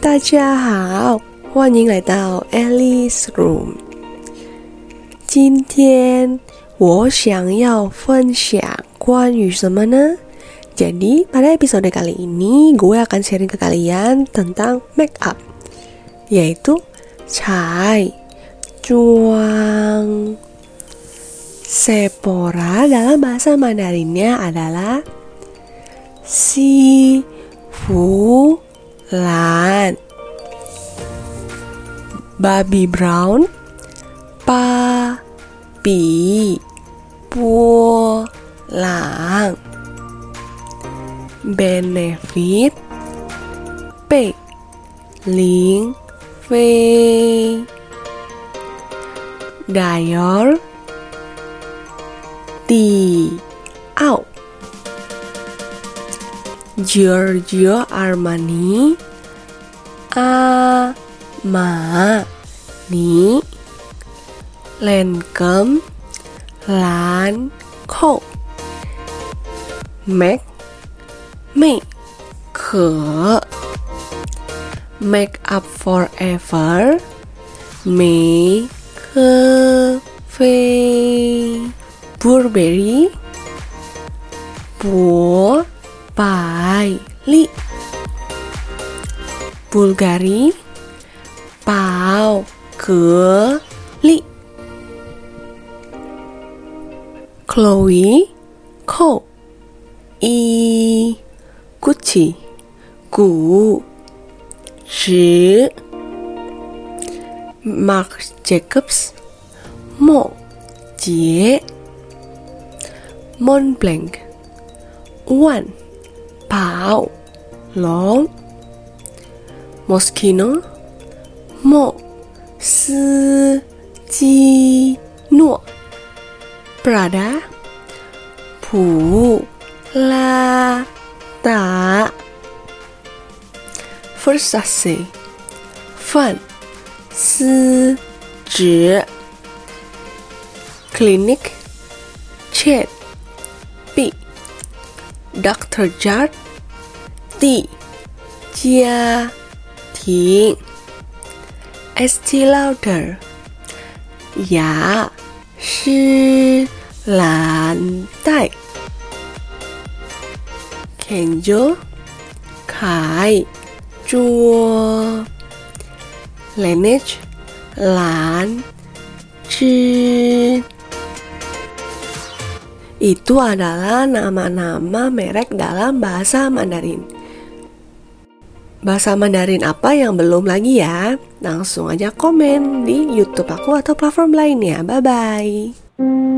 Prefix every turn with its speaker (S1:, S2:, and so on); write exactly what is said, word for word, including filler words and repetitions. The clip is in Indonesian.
S1: 大家好，欢迎来到 Alice Room。今天我想要分享关于什么呢？Jadi pada episode kali ini gue akan sharing ke kalian tentang make up, yaitu cai cuang. Sephora dalam bahasa Mandarinnya adalah si fu lan. Baby brown pa pi puo lang. Benefit Pei Ling Fei. Dior Di Au. Giorgio Armani A Ma Ni. Lancome Lan Ko. Mac Mei Ke. Make Up Forever Mei Ke Fei. Burberry Bo Bai Li. Bulgari Pao Ke Li. Chloe Ko I. Gucci Gu Zhi. Marc Jacobs Mo Jie. Montblanc Wan Pao Long. Moschino Mo Si Ji Nuo. Prada Pu La Ta. Versace Fan Si Zhi. Clinique Chet Pi. Doctor Jart Ti Jia Ting. Estee Lauder Ya Shi Lan Dai. Kenzo Kai Zhuo. Laneige Lan Zhi. Itu adalah nama-nama merek dalam bahasa Mandarin. Bahasa Mandarin apa yang belum lagi ya? Langsung aja komen di YouTube aku atau platform lainnya. Bye-bye.